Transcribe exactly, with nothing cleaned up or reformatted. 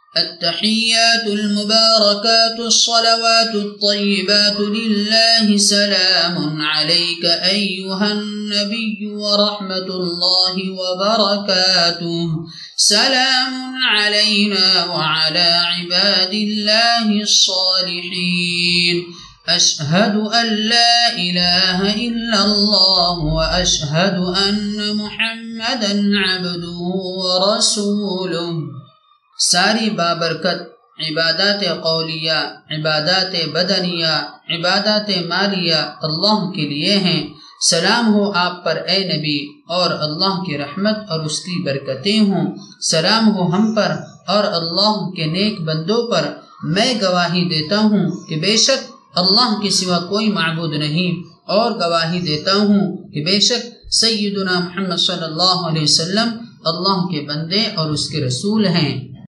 अत्तहिय्यातुल मुबारकातुस सलवातुत तय्यिबातु लिल्लाहि सलामुन अलैका अय्युहन नबिय्यु व रहमतुल्लाहि व बरकातुहु सलामुन अलैना व अला इबादिल्लाहिस सालिहीन अशहदु अन ला इलाहा इल्लल्लाह व अशहदु अन्न मुहम्मदन अब्दुहु व रसूलुहु। सारी बाबरकत इबादत कौलिया, इबादत बदनिया, इबादत मालिया अल्लाह के लिए हैं। सलाम हो आप पर ए नबी, और अल्लाह की रहमत और उसकी बरकतें हों। सलाम हो हम पर और अल्लाह के नेक बंदों पर। मैं गवाही देता हूँ कि बेशक अल्लाह के सिवा कोई माबूद नहीं, और गवाही देता हूँ कि बेशक सय्यदुना मुहम्मद सल्लल्लाहु अलैहि वसल्लम अल्लाह के बंदे और उसके रसूल हैं।